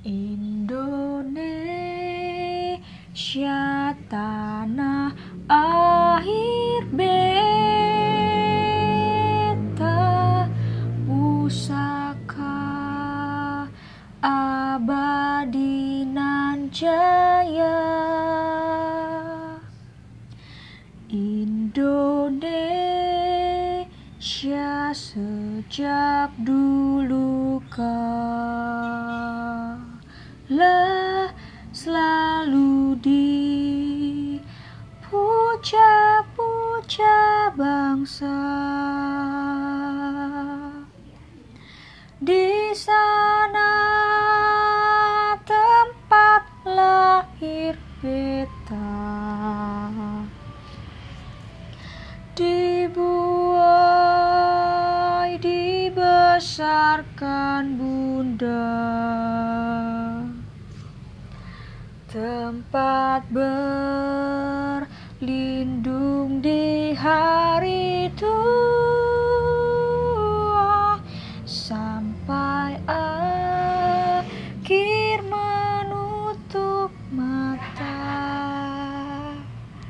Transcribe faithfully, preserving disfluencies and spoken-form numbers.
Indonesia tanah air beta, pusaka abadi nan jaya. Indonesia sejak dulu kala selalu dipuja-puja bangsa. Di sana tempat lahir beta, dibuai dibesarkan bunda, tempat berlindung di hari tua.